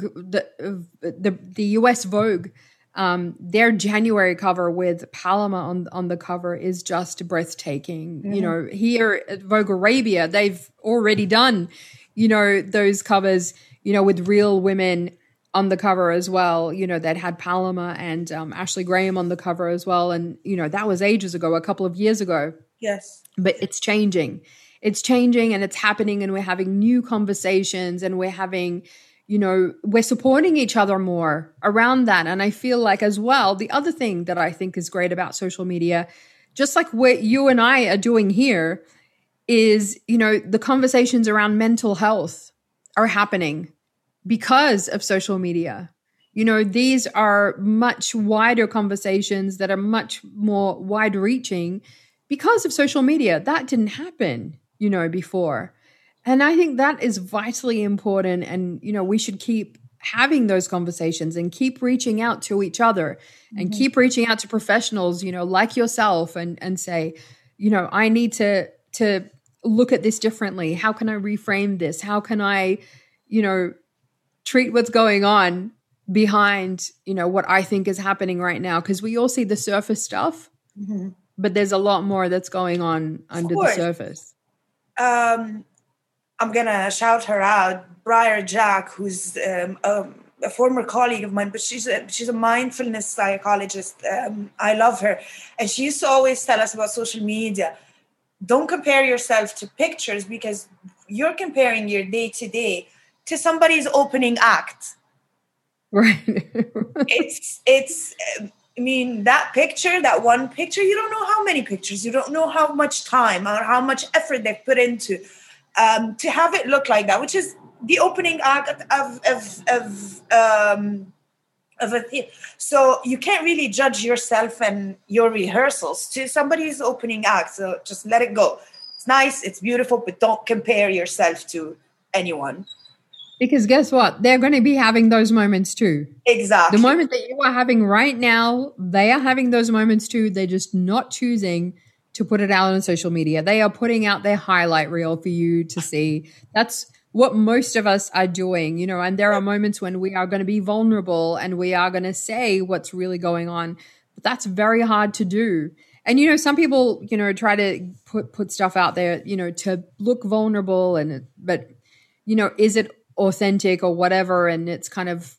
the US Vogue, their January cover with Paloma on the cover is just breathtaking. You know, here at Vogue Arabia, they've already done, you know, those covers, you know, with real women on the cover as well. You know, that had Paloma and Ashley Graham on the cover as well. And, you know, that was ages ago, a couple of years ago. Yes. But it's changing. It's changing and it's happening, and we're having new conversations, and we're having, you know, we're supporting each other more around that. And I feel like as well, the other thing that I think is great about social media, just like what you and I are doing here, is, you know, the conversations around mental health are happening because of social media. You know, these are much wider conversations that are much more wide reaching because of social media. That didn't happen, you know, before. And I think that is vitally important. And, you know, we should keep having those conversations and keep reaching out to each other and keep reaching out to professionals, you know, like yourself, and say, you know, I need to look at this differently. How can I reframe this? How can I, you know, treat what's going on behind, you know, what I think is happening right now? Because we all see the surface stuff, but there's a lot more that's going on under the surface. I'm gonna shout her out, Briar Jack, who's a former colleague of mine, but she's a mindfulness psychologist. I love her, and she used to always tell us about social media. Don't compare yourself to pictures, because you're comparing your day to day to somebody's opening act. Right. It's I mean, that picture, that one picture, you don't know how many pictures, you don't know how much time or how much effort they've put into to have it look like that, which is the opening act of a theater. So you can't really judge yourself and your rehearsals to somebody's opening act. So just let it go. It's nice, it's beautiful, but don't compare yourself to anyone. Because guess what? They're going to be having those moments too. Exactly. The moment that you are having right now, they are having those moments too. They're just not choosing to put it out on social media. They are putting out their highlight reel for you to see. That's what most of us are doing, you know, and there are moments when we are going to be vulnerable and we are going to say what's really going on. But that's very hard to do. And, you know, some people, you know, try to put stuff out there, you know, to look vulnerable but, you know, is it authentic or whatever? And it's kind of,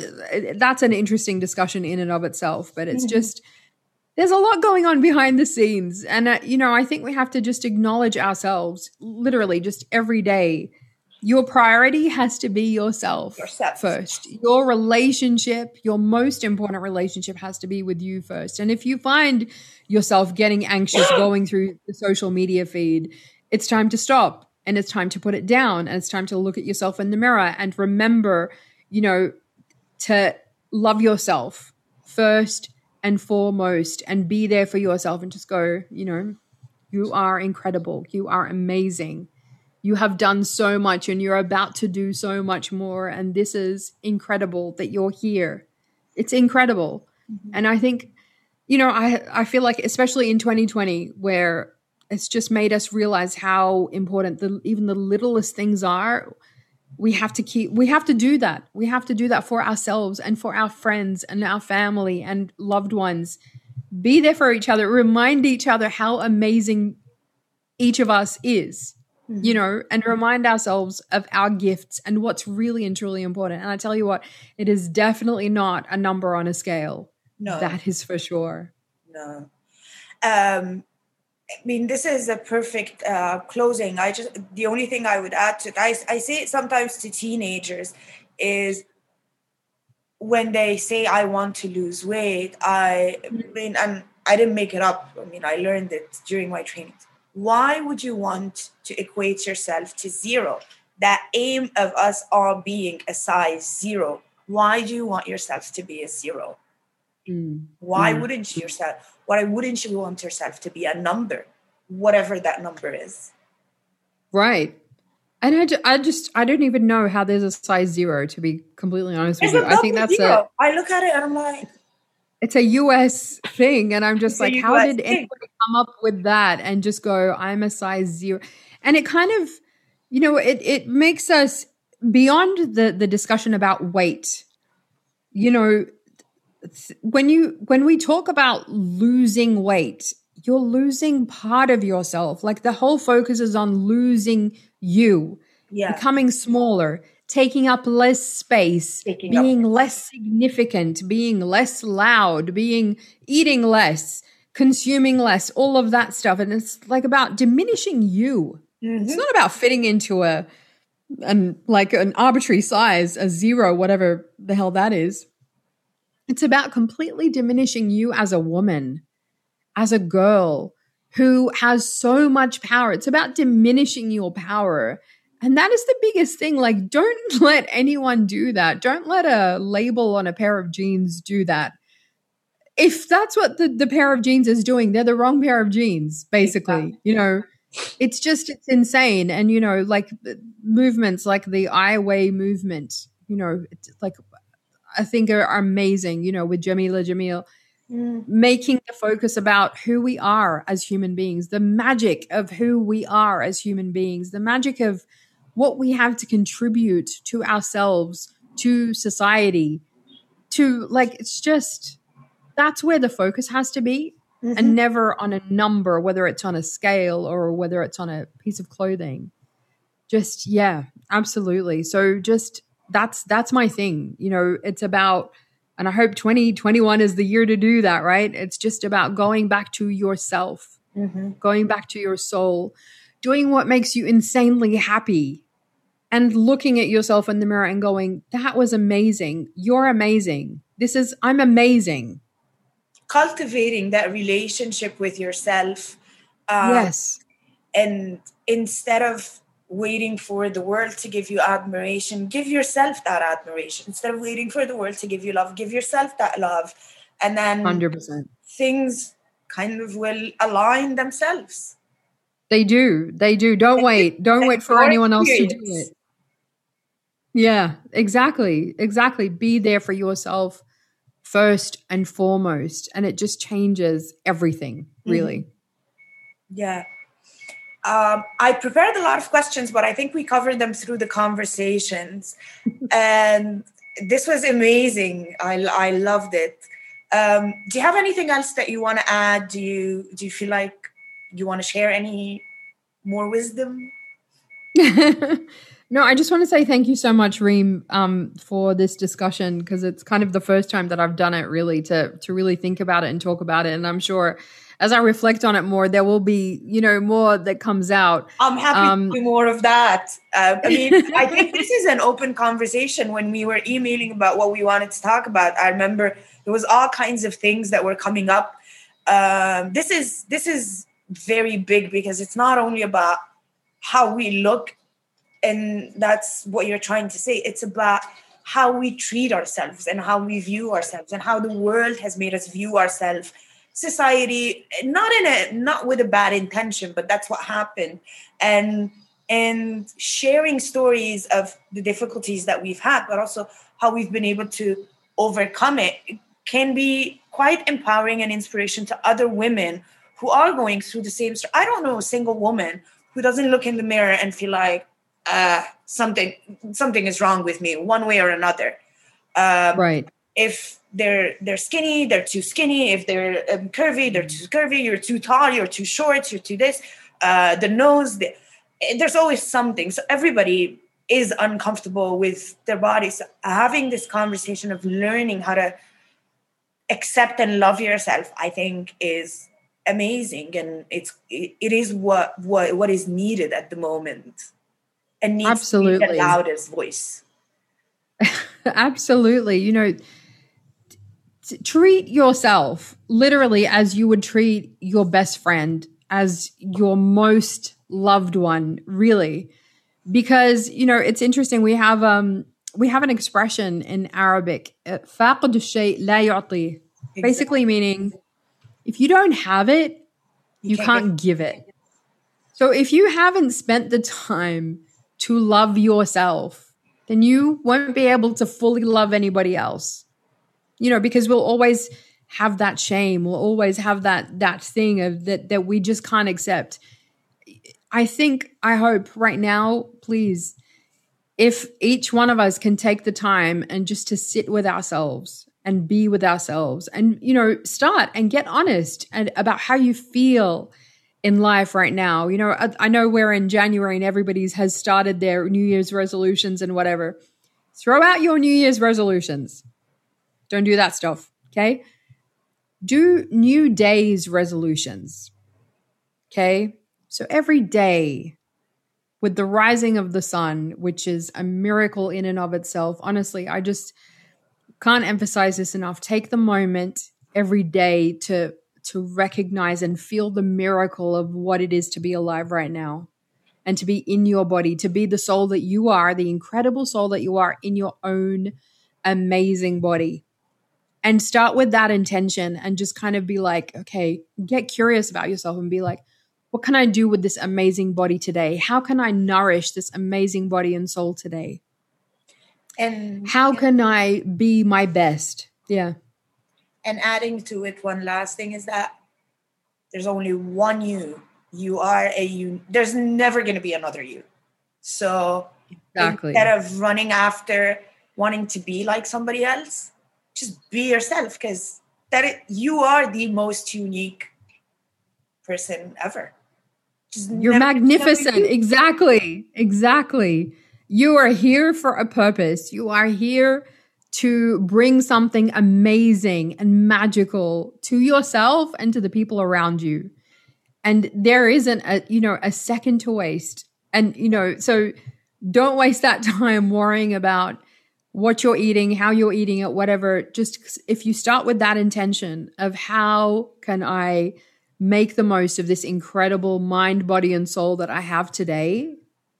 that's an interesting discussion in and of itself, but it's just, there's a lot going on behind the scenes. And, you know, I think we have to just acknowledge ourselves literally just every day. Your priority has to be yourself first. Your relationship, your most important relationship has to be with you first. And if you find yourself getting anxious going through the social media feed, it's time to stop. And it's time to put it down, and it's time to look at yourself in the mirror and remember, you know, to love yourself first and foremost and be there for yourself and just go, you know, you are incredible. You are amazing. You have done so much and you're about to do so much more. And this is incredible that you're here. It's incredible. And I think, you know, I feel like especially in 2020 where it's just made us realize how important even the littlest things are. We have to do that. We have to do that for ourselves and for our friends and our family and loved ones. Be there for each other. Remind each other how amazing each of us is, you know, and remind ourselves of our gifts and what's really and truly important. And I tell you what, it is definitely not a number on a scale. No. That is for sure. No. I mean, this is a perfect closing. The only thing I would add to it, I say it sometimes to teenagers, is when they say, I want to lose weight, I mean, and I didn't make it up. I mean, I learned it during my training. Why would you want to equate yourself to zero? That aim of us all being a size 0. Why do you want yourself to be a 0? Why wouldn't you Why wouldn't you want yourself to be a number, whatever that number is? Right. And I don't even know how there's a size 0, to be completely honest with you. I think that's 0. I look at it and I'm like, it's a US thing. And I'm just like, how did anybody come up with that and just go, I'm a size 0? And it kind of, you know, it makes us beyond the discussion about weight, you know, when we talk about losing weight, you're losing part of yourself. Like the whole focus is on losing you, becoming smaller, taking up less space, being less significant, being less loud, eating less, consuming less, all of that stuff. And it's like about diminishing you. It's not about fitting into an arbitrary size, a 0, whatever the hell that is. It's about completely diminishing you as a woman, as a girl who has so much power. It's about diminishing your power. And that is the biggest thing. Like, don't let anyone do that. Don't let a label on a pair of jeans do that. If that's what the pair of jeans is doing, they're the wrong pair of jeans, basically. Exactly. You know, it's insane. And, you know, like movements like the I Weigh movement, you know, it's like, I think are amazing, you know, with Jameela Jamil, making the focus about who we are as human beings, the magic of who we are as human beings, the magic of what we have to contribute to ourselves, to society, to like, it's just, that's where the focus has to be and never on a number, whether it's on a scale or whether it's on a piece of clothing. just, yeah, absolutely. So just that's my thing. You know, it's about, and I hope 2021 is the year to do that, right? It's just about going back to yourself, going back to your soul, doing what makes you insanely happy, and looking at yourself in the mirror and going, that was amazing. You're amazing. I'm amazing. Cultivating that relationship with yourself. Yes. And instead of waiting for the world to give you admiration, give yourself that admiration. Instead of waiting for the world to give you love, give yourself that love. And then 100%. things kind of will align themselves. They do. They do. Don't wait. Don't wait for anyone else to do it. Yeah, exactly. Exactly. Be there for yourself first and foremost. And it just changes everything, really. Yeah. I prepared a lot of questions, but I think we covered them through the conversations. And this was amazing. I loved it. Do you have anything else that you want to add? Do you feel like you want to share any more wisdom? No, I just want to say thank you so much, Reem, for this discussion, because it's kind of the first time that I've done it really to really think about it and talk about it. And I'm sure as I reflect on it more, there will be, more that comes out. I'm happy to do more of that. I mean, I think this is an open conversation. When we were emailing about what we wanted to talk about, I remember there was all kinds of things that were coming up. This is very big, because it's not only about how we look, and that's what you're trying to say. It's about how we treat ourselves and how we view ourselves and how the world has made us view ourselves. Society, not with a bad intention, but that's what happened. And sharing stories of the difficulties that we've had, but also how we've been able to overcome it, can be quite empowering and inspiration to other women who are going through the same. I don't know a single woman who doesn't look in the mirror and feel like something is wrong with me, one way or another. Right. If they're skinny, they're too skinny. If they're curvy, they're too curvy. You're too tall, you're too short, you're too this. The nose, there's always something. So everybody is uncomfortable with their bodies. So having this conversation of learning how to accept and love yourself, I think, is amazing, and it is what is needed at the moment, and needs Absolutely. to be the loudest voice. Absolutely. Treat yourself literally as you would treat your best friend, as your most loved one, really. Because, it's interesting. We have an expression in Arabic, فاقد الشيء لا يعطيه. Basically meaning, if you don't have it, you can't give it. So if you haven't spent the time to love yourself, then you won't be able to fully love anybody else. Because we'll always have that shame. We'll always have that thing of that we just can't accept. I hope right now, please, if each one of us can take the time and just to sit with ourselves and be with ourselves and, start and get honest and about how you feel in life right now. I know we're in January and everybody's has started their New Year's resolutions and whatever. Throw out your New Year's resolutions. Don't do that stuff, okay? Do new days resolutions, okay? So every day with the rising of the sun, which is a miracle in and of itself, honestly, I just can't emphasize this enough. Take the moment every day to recognize and feel the miracle of what it is to be alive right now and to be in your body, to be the soul that you are, the incredible soul that you are in your own amazing body. And start with that intention and just kind of be like, okay, get curious about yourself and be like, what can I do with this amazing body today? How can I nourish this amazing body and soul today? And how can I be my best? Yeah. And adding to it, one last thing is that there's only one you. You are there's never going to be another you. So instead of running after wanting to be like somebody else, just be yourself, because you are the most unique person ever. You're magnificent. Exactly. You are here for a purpose. You are here to bring something amazing and magical to yourself and to the people around you. And there isn't a second to waste. And, so don't waste that time worrying about what you're eating, how you're eating it, whatever. Just if you start with that intention of how can I make the most of this incredible mind, body, and soul that I have today,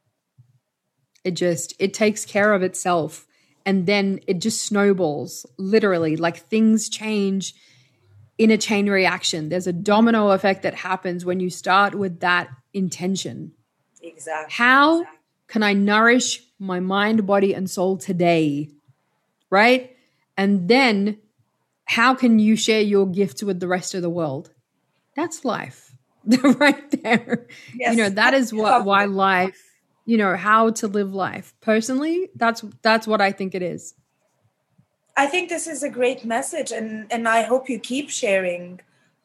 it takes care of itself. And then it just snowballs, literally, like things change in a chain reaction. There's a domino effect that happens when you start with that intention. Exactly. How can I nourish my mind, body, and soul today? Right? And then how can you share your gifts with the rest of the world? That's life right there. Yes. That is why life, how to live life. Personally, that's what I think it is. I think this is a great message, and I hope you keep sharing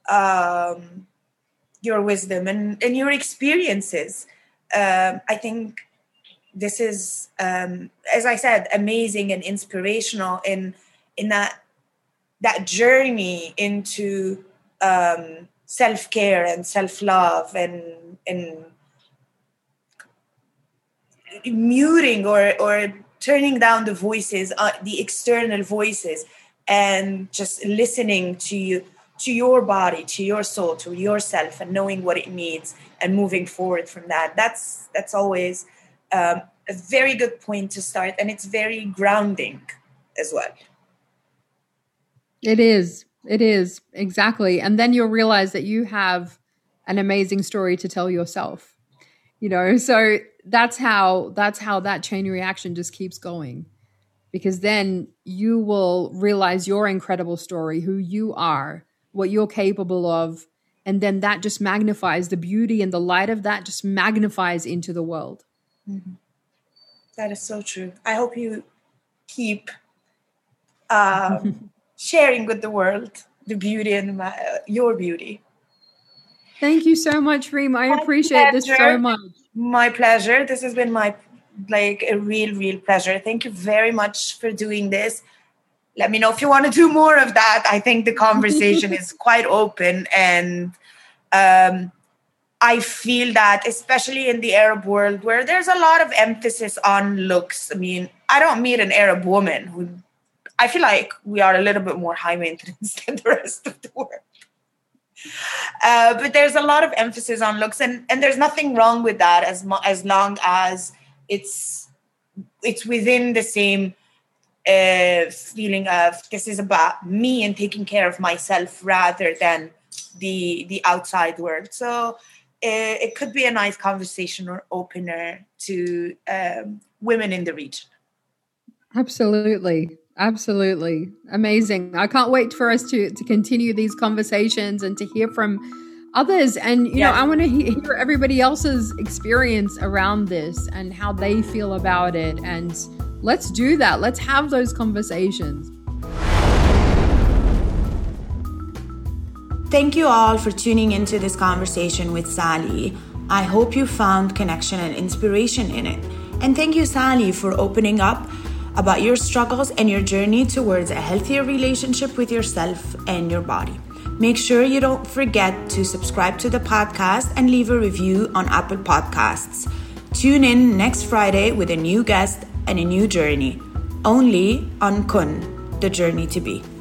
your wisdom and your experiences. I think this is, as I said, amazing and inspirational in that journey into self-care and self-love and muting or turning down the voices, the external voices, and just listening to your body, to your soul, to yourself, and knowing what it needs and moving forward from that. That's always a very good point to start, and it's very grounding as well. It is. Exactly. And then you'll realize that you have an amazing story to tell yourself, so that's how that chain reaction just keeps going, because then you will realize your incredible story, who you are, what you're capable of. And then that just magnifies the beauty, and the light of that just magnifies into the world. Mm-hmm. That is so true. I hope you keep sharing with the world the beauty and your beauty. Thank you so much, Reem. I appreciate this so much. My pleasure. This has been a real pleasure. Thank you very much for doing this. Let me know if you want to do more of that. I think the conversation is quite open, and I feel that, especially in the Arab world, where there's a lot of emphasis on looks. I mean, I don't meet an Arab woman who, I feel like we are a little bit more high maintenance than the rest of the world. But there's a lot of emphasis on looks, and there's nothing wrong with that as long as it's within the same feeling of this is about me and taking care of myself rather than the outside world. So it could be a nice conversation or opener to women in the region. Absolutely. Amazing. I can't wait for us to continue these conversations and to hear from others. And, I want to hear everybody else's experience around this and how they feel about it. And let's do that. Let's have those conversations. Thank you all for tuning into this conversation with Sally. I hope you found connection and inspiration in it. And thank you, Sally, for opening up about your struggles and your journey towards a healthier relationship with yourself and your body. Make sure you don't forget to subscribe to the podcast and leave a review on Apple Podcasts. Tune in next Friday with a new guest and a new journey, only on Kun, the Journey to Be.